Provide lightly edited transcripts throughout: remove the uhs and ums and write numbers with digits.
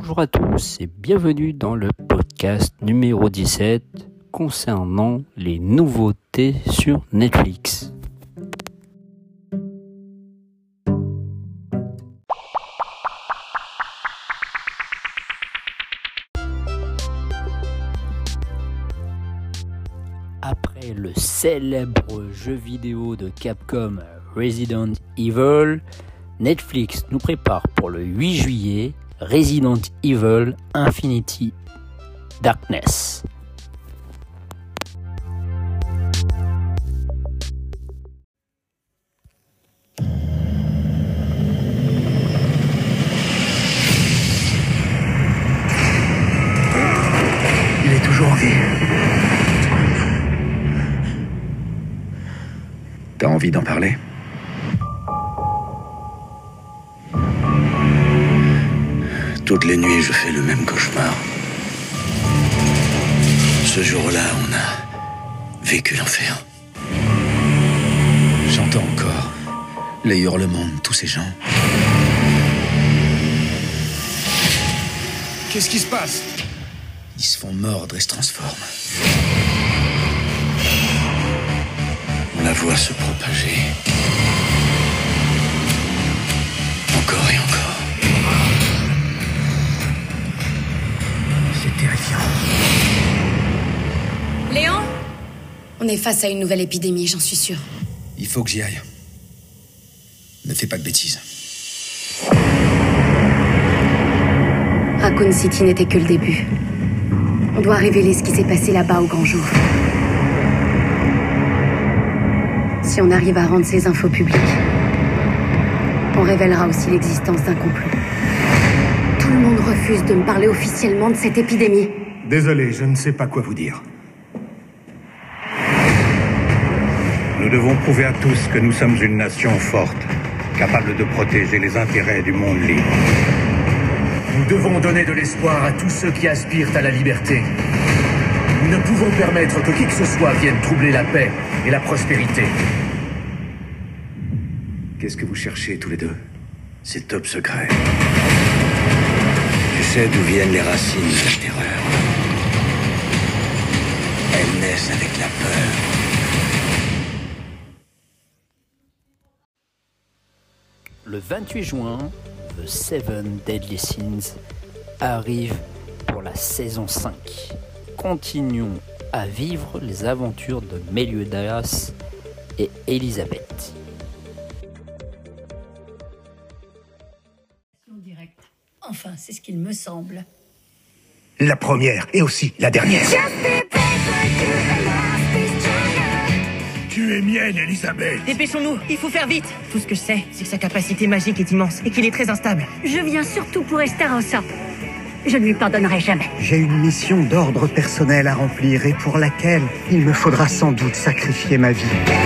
Bonjour à tous et bienvenue dans le podcast numéro 17 concernant les nouveautés sur Netflix. Après le célèbre jeu vidéo de Capcom Resident Evil, Netflix nous prépare pour le 8 juillet Resident Evil Infinity Darkness. Il est toujours en vie. T'as envie d'en parler ? Toutes les nuits, je fais le même cauchemar. Ce jour-là, on a vécu l'enfer. J'entends encore les hurlements de tous ces gens. Qu'est-ce qui se passe ? Ils se font mordre et se transforment. On la voit se propager. Encore et encore. C'est terrifiant. Léon ? On est face à une nouvelle épidémie, j'en suis sûre. Il faut que j'y aille. Ne fais pas de bêtises. Raccoon City n'était que le début. On doit révéler ce qui s'est passé là-bas au grand jour. Si on arrive à rendre ces infos publiques, on révélera aussi l'existence d'un complot. Tout le monde refuse de me parler officiellement de cette épidémie. Désolé, je ne sais pas quoi vous dire. Nous devons prouver à tous que nous sommes une nation forte, capable de protéger les intérêts du monde libre. Nous devons donner de l'espoir à tous ceux qui aspirent à la liberté. Nous ne pouvons permettre que qui que ce soit vienne troubler la paix et la prospérité. Qu'est-ce que vous cherchez tous les deux ? C'est top secret. Tu sais d'où viennent les racines de la terreur. Elles naissent avec la peur. Le 28 juin, The Seven Deadly Sins arrive pour la saison 5. Continuons à vivre les aventures de Meliodas et Elisabeth. Direct. Enfin, c'est ce qu'il me semble. La première et aussi la dernière. Tu es mienne, Elisabeth. Dépêchons-nous, il faut faire vite. Tout ce que je sais, c'est que sa capacité magique est immense et qu'il est très instable. Je viens surtout pour Estarossa. Je ne lui pardonnerai jamais. J'ai une mission d'ordre personnel à remplir et pour laquelle il me faudra sans doute sacrifier ma vie.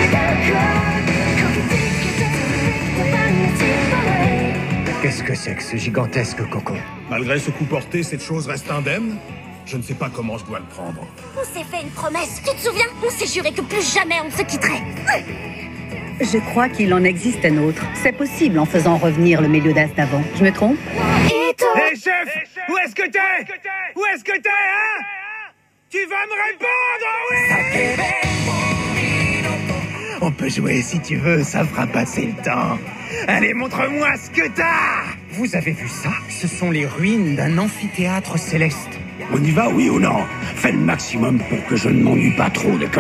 Qu'est-ce que c'est que ce gigantesque cocon ? Malgré ce coup porté, cette chose reste indemne. Je ne sais pas comment je dois le prendre. On s'est fait une promesse, tu te souviens ? On s'est juré que plus jamais on ne se quitterait. Je crois qu'il en existe un autre. C'est possible en faisant revenir le Meliodas d'avant. Je me trompe ? Hé chef, où est-ce que t'es ? Où est-ce que t'es, hein ? Tu vas me répondre, oui ? On peut jouer si tu veux, ça fera passer le temps. Allez, montre-moi ce que t'as ! Vous avez vu ça ? Ce sont les ruines d'un amphithéâtre céleste. On y va, oui ou non ? Fais le maximum pour que je ne m'ennuie pas trop, d'accord ?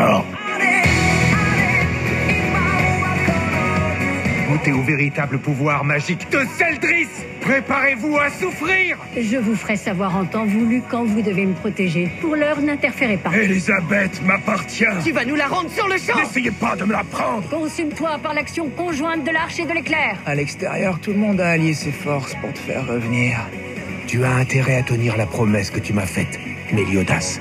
Goûtez au véritable pouvoir magique de Celdris. Préparez-vous à souffrir. Je vous ferai savoir en temps voulu quand vous devez me protéger. Pour l'heure, n'interférez pas. Elisabeth m'appartient. Tu vas nous la rendre sur le champ. N'essayez pas de me la prendre. Consume-toi par l'action conjointe de l'arche et de l'éclair. À l'extérieur, tout le monde a allié ses forces pour te faire revenir. Tu as intérêt à tenir la promesse que tu m'as faite, Meliodas.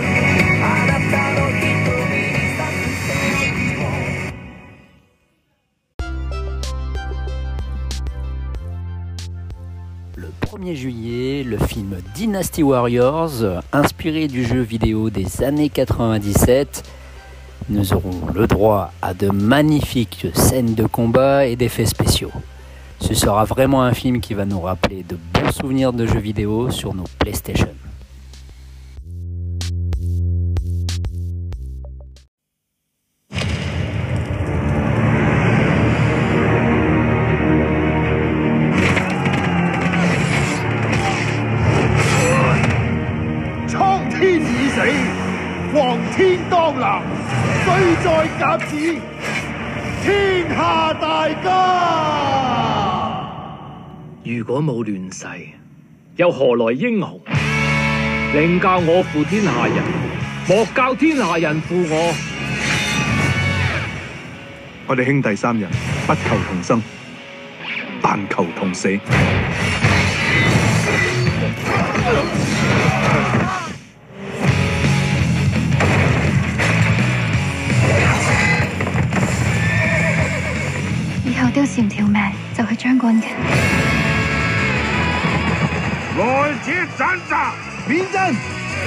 Le 1er juillet, le film Dynasty Warriors, inspiré du jeu vidéo des années 97, nous aurons le droit à de magnifiques scènes de combat et d'effets spéciaux. Ce sera vraiment un film qui va nous rappeler de bons souvenirs de jeux vidéo sur nos PlayStation. 如果冇亂世，又何來英雄？寧教我負天下人，莫教天下人負我。 我哋兄弟三人不求同生，但求同死。 以後丟少條命就去將軍嘅。 來者斬殺，免陣！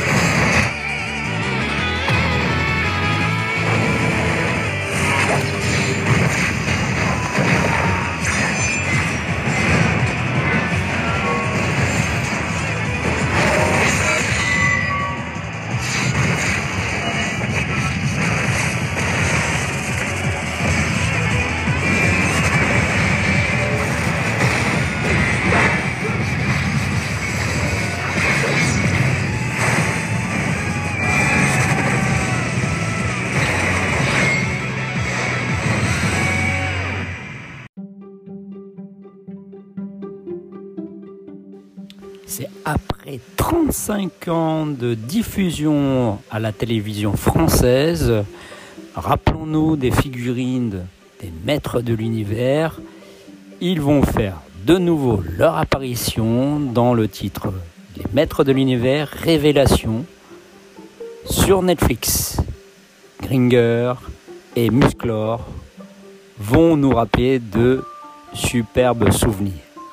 C'est après 35 ans de diffusion à la télévision française, rappelons-nous des figurines des Maîtres de l'Univers, ils vont faire de nouveau leur apparition dans le titre Les Maîtres de l'Univers Révélation sur Netflix. Gringer et Musclor vont nous rappeler de superbes souvenirs.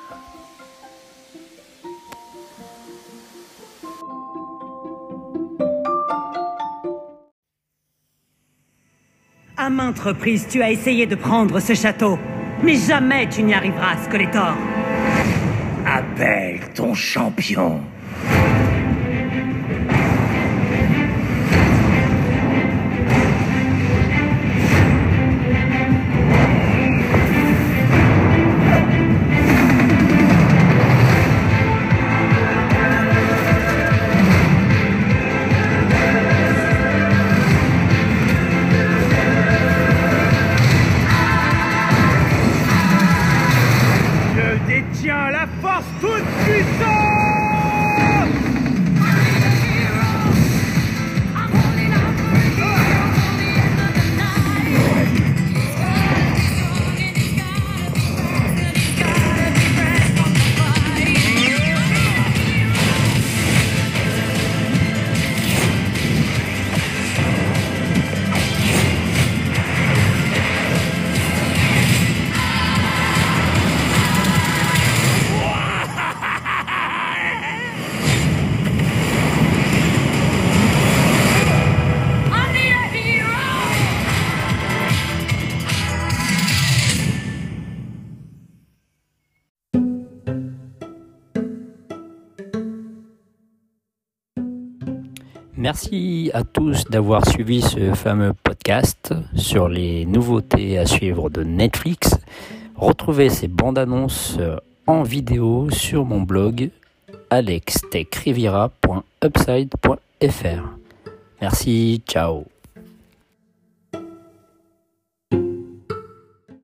À maintes reprises, tu as essayé de prendre ce château, mais jamais tu n'y arriveras, Skeletor. Appelle ton champion. Tiens, la force toute puissante! Merci à tous d'avoir suivi ce fameux podcast sur les nouveautés à suivre de Netflix. Retrouvez ces bandes annonces en vidéo sur mon blog alextechrivira.upside.fr. Merci, ciao.